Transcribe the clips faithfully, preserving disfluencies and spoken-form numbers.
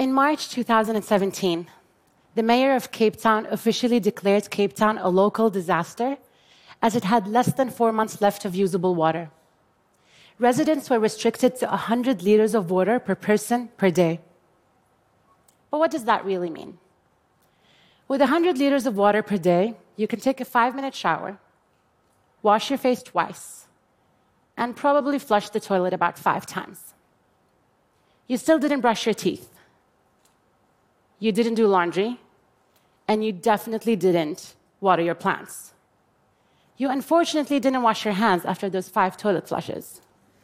In March two thousand seventeen, the mayor of Cape Town officially declared Cape Town a local disaster as it had less than four months left of usable water. Residents were restricted to one hundred liters of water per person per day. But what does that really mean? With one hundred liters of water per day, you can take a five-minute shower, wash your face twice, and probably flush the toilet about five times. You still didn't brush your teeth. You didn't do laundry, and you definitely didn't water your plants. You unfortunately didn't wash your hands after those five toilet flushes.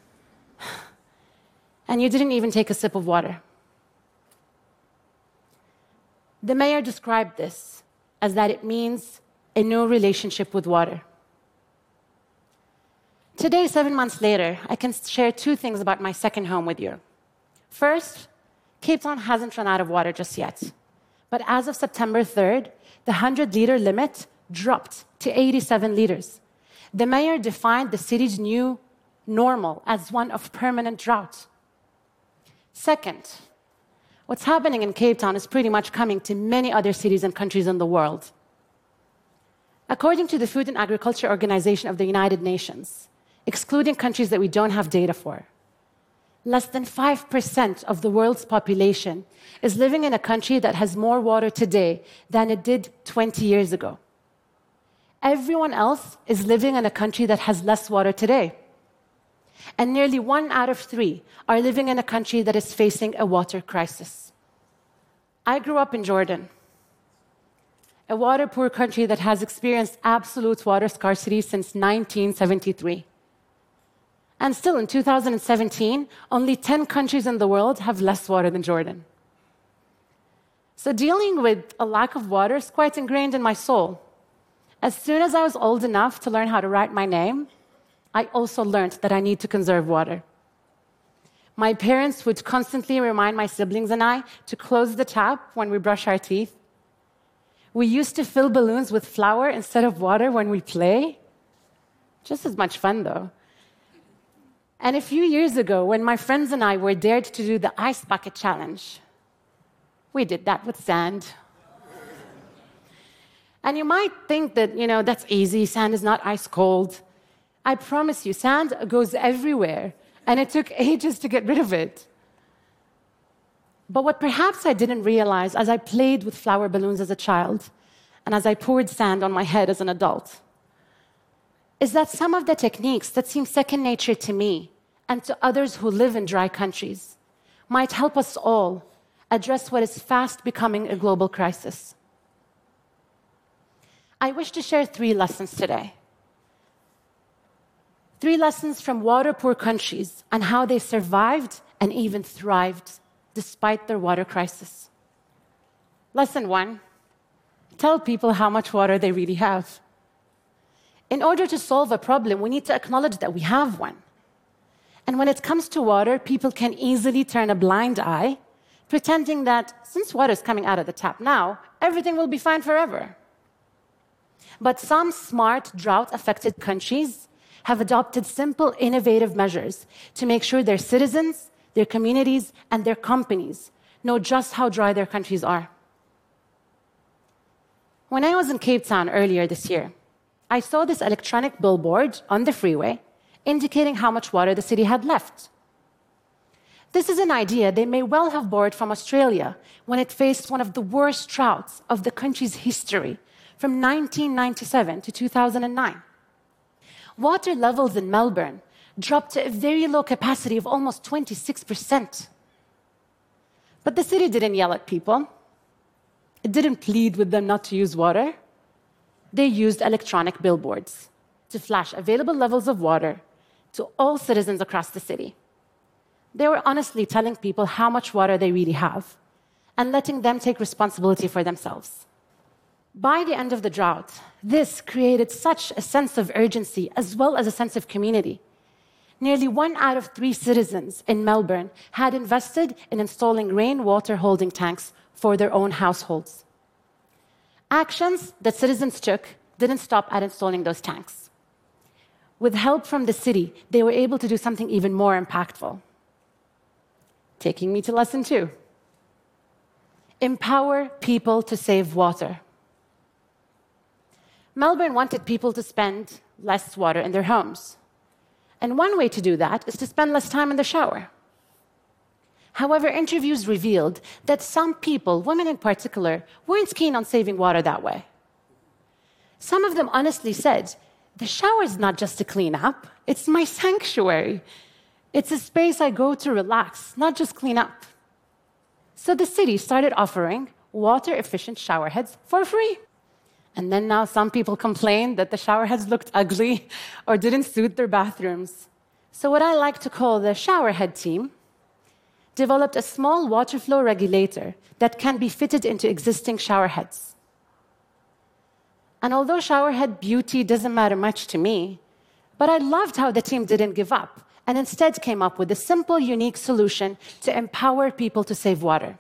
And you didn't even take a sip of water. The mayor described this as that it means a new relationship with water. Today, seven months later, I can share two things about my second home with you. First, Cape Town hasn't run out of water just yet. But as of September third, the one hundred liter limit dropped to eighty-seven liters. The mayor defined the city's new normal as one of permanent drought. Second, what's happening in Cape Town is pretty much coming to many other cities and countries in the world. According to the Food and Agriculture Organization of the United Nations, excluding countries that we don't have data for, less than five percent of the world's population is living in a country that has more water today than it did twenty years ago. Everyone else is living in a country that has less water today. And nearly one out of three are living in a country that is facing a water crisis. I grew up in Jordan, a water-poor country that has experienced absolute water scarcity since nineteen seventy-three. And still, in two thousand seventeen, only ten countries in the world have less water than Jordan. So dealing with a lack of water is quite ingrained in my soul. As soon as I was old enough to learn how to write my name, I also learned that I need to conserve water. My parents would constantly remind my siblings and I to close the tap when we brush our teeth. We used to fill balloons with flour instead of water when we play. Just as much fun, though. And a few years ago, when my friends and I were dared to do the ice bucket challenge, we did that with sand. And you might think that, you know, that's easy, sand is not ice cold. I promise you, sand goes everywhere, and it took ages to get rid of it. But what perhaps I didn't realize as I played with flower balloons as a child, and as I poured sand on my head as an adult, is that some of the techniques that seem second nature to me and to others who live in dry countries might help us all address what is fast becoming a global crisis. I wish to share three lessons today. Three lessons from water-poor countries and how they survived and even thrived despite their water crisis. Lesson one, tell people how much water they really have. In order to solve a problem, we need to acknowledge that we have one. And when it comes to water, people can easily turn a blind eye, pretending that since water is coming out of the tap now, everything will be fine forever. But some smart, drought-affected countries have adopted simple, innovative measures to make sure their citizens, their communities, and their companies know just how dry their countries are. When I was in Cape Town earlier this year, I saw this electronic billboard on the freeway indicating how much water the city had left. This is an idea they may well have borrowed from Australia when it faced one of the worst droughts of the country's history from nineteen ninety-seven to two thousand nine. Water levels in Melbourne dropped to a very low capacity of almost twenty-six percent. But the city didn't yell at people. It didn't plead with them not to use water. They used electronic billboards to flash available levels of water to all citizens across the city. They were honestly telling people how much water they really have and letting them take responsibility for themselves. By the end of the drought, this created such a sense of urgency as well as a sense of community. Nearly one out of three citizens in Melbourne had invested in installing rainwater holding tanks for their own households. Actions that citizens took didn't stop at installing those tanks. With help from the city, they were able to do something even more impactful. Taking me to lesson two. Empower people to save water. Melbourne wanted people to spend less water in their homes. And one way to do that is to spend less time in the shower. However, interviews revealed that some people, women in particular, weren't keen on saving water that way. Some of them honestly said, the shower is not just to clean up, it's my sanctuary. It's a space I go to relax, not just clean up. So the city started offering water-efficient shower heads for free. And then now some people complain that the shower heads looked ugly or didn't suit their bathrooms. So what I like to call the shower head team developed a small water flow regulator that can be fitted into existing shower heads. And although shower head beauty doesn't matter much to me, but I loved how the team didn't give up and instead came up with a simple, unique solution to empower people to save water.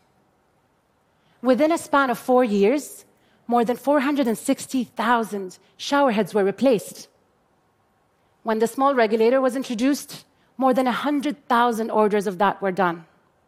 Within a span of four years, more than four hundred sixty thousand shower heads were replaced. When the small regulator was introduced, more than one hundred thousand orders of that were done.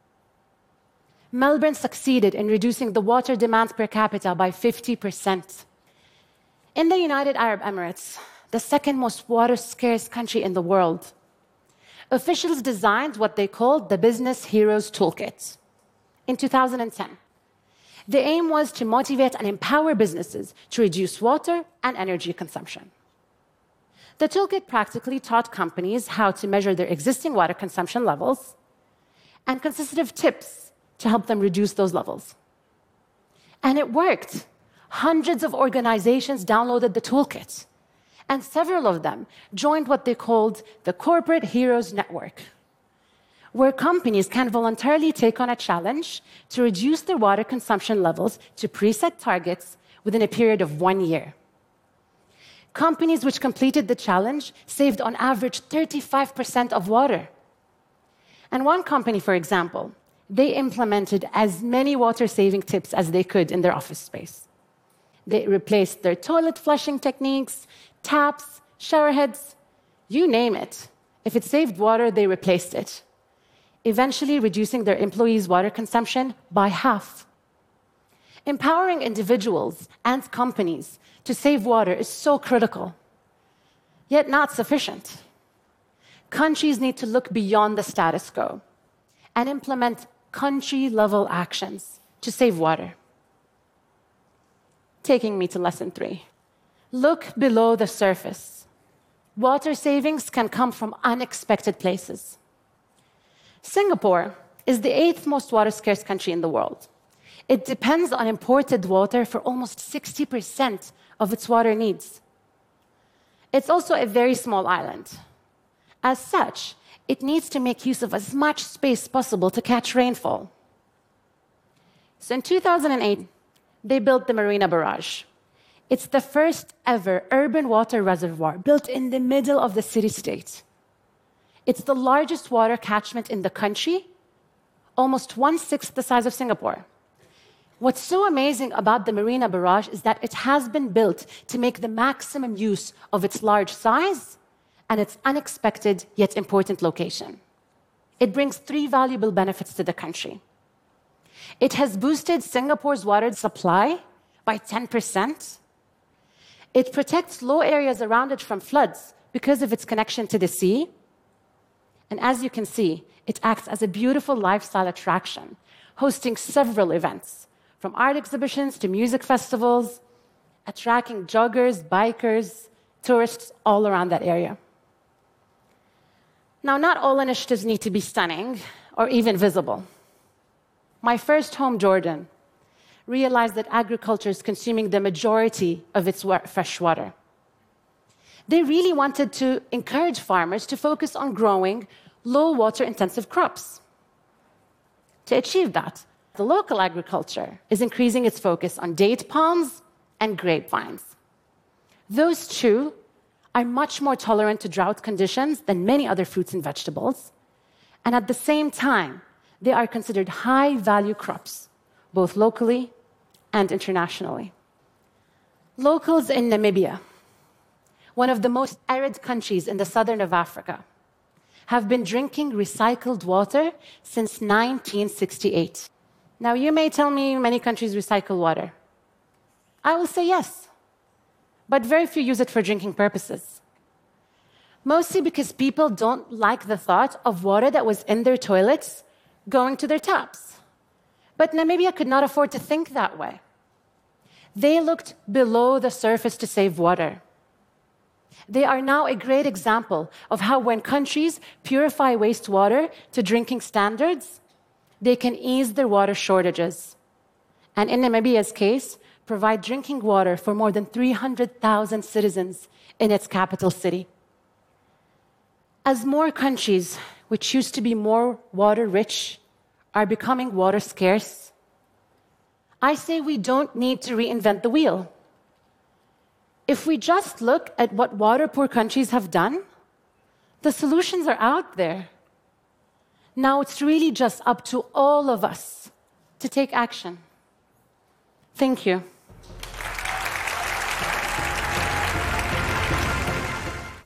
Melbourne succeeded in reducing the water demands per capita by fifty percent. In the United Arab Emirates, the second most water-scarce country in the world, officials designed what they called the Business Heroes Toolkit in two thousand ten. The aim was to motivate and empower businesses to reduce water and energy consumption. The toolkit practically taught companies how to measure their existing water consumption levels and consisted of tips to help them reduce those levels. And it worked. Hundreds of organizations downloaded the toolkit, and several of them joined what they called the Corporate Heroes Network, where companies can voluntarily take on a challenge to reduce their water consumption levels to preset targets within a period of one year. Companies which completed the challenge saved on average thirty-five percent of water. And one company, for example, they implemented as many water-saving tips as they could in their office space. They replaced their toilet flushing techniques, taps, shower heads, you name it. If it saved water, they replaced it, eventually reducing their employees' water consumption by half. Empowering individuals and companies to save water is so critical, yet not sufficient. Countries need to look beyond the status quo and implement country-level actions to save water. Taking me to lesson three. Look below the surface. Water savings can come from unexpected places. Singapore is the eighth most water-scarce country in the world. It depends on imported water for almost sixty percent of its water needs. It's also a very small island. As such, it needs to make use of as much space possible to catch rainfall. So in two thousand eight, they built the Marina Barrage. It's the first ever urban water reservoir built in the middle of the city-state. It's the largest water catchment in the country, almost one-sixth the size of Singapore. What's so amazing about the Marina Barrage is that it has been built to make the maximum use of its large size and its unexpected yet important location. It brings three valuable benefits to the country. It has boosted Singapore's water supply by ten percent. It protects low areas around it from floods because of its connection to the sea. And as you can see, it acts as a beautiful lifestyle attraction, hosting several events, from art exhibitions to music festivals, attracting joggers, bikers, tourists all around that area. Now, not all initiatives need to be stunning or even visible. My first home, Jordan, realized that agriculture is consuming the majority of its fresh water. They really wanted to encourage farmers to focus on growing low water-intensive crops. To achieve that, the local agriculture is increasing its focus on date palms and grapevines. Those two are much more tolerant to drought conditions than many other fruits and vegetables, and at the same time, they are considered high-value crops, both locally and internationally. Locals in Namibia, one of the most arid countries in the southern of Africa, have been drinking recycled water since nineteen sixty-eight. Now, you may tell me many countries recycle water. I will say yes, but very few use it for drinking purposes. Mostly because people don't like the thought of water that was in their toilets going to their taps. But Namibia could not afford to think that way. They looked below the surface to save water. They are now a great example of how when countries purify wastewater to drinking standards, they can ease their water shortages. And in Namibia's case, provide drinking water for more than three hundred thousand citizens in its capital city. As more countries, which used to be more water-rich, are becoming water scarce, I say we don't need to reinvent the wheel. If we just look at what water-poor countries have done, the solutions are out there. Now it's really just up to all of us to take action. Thank you.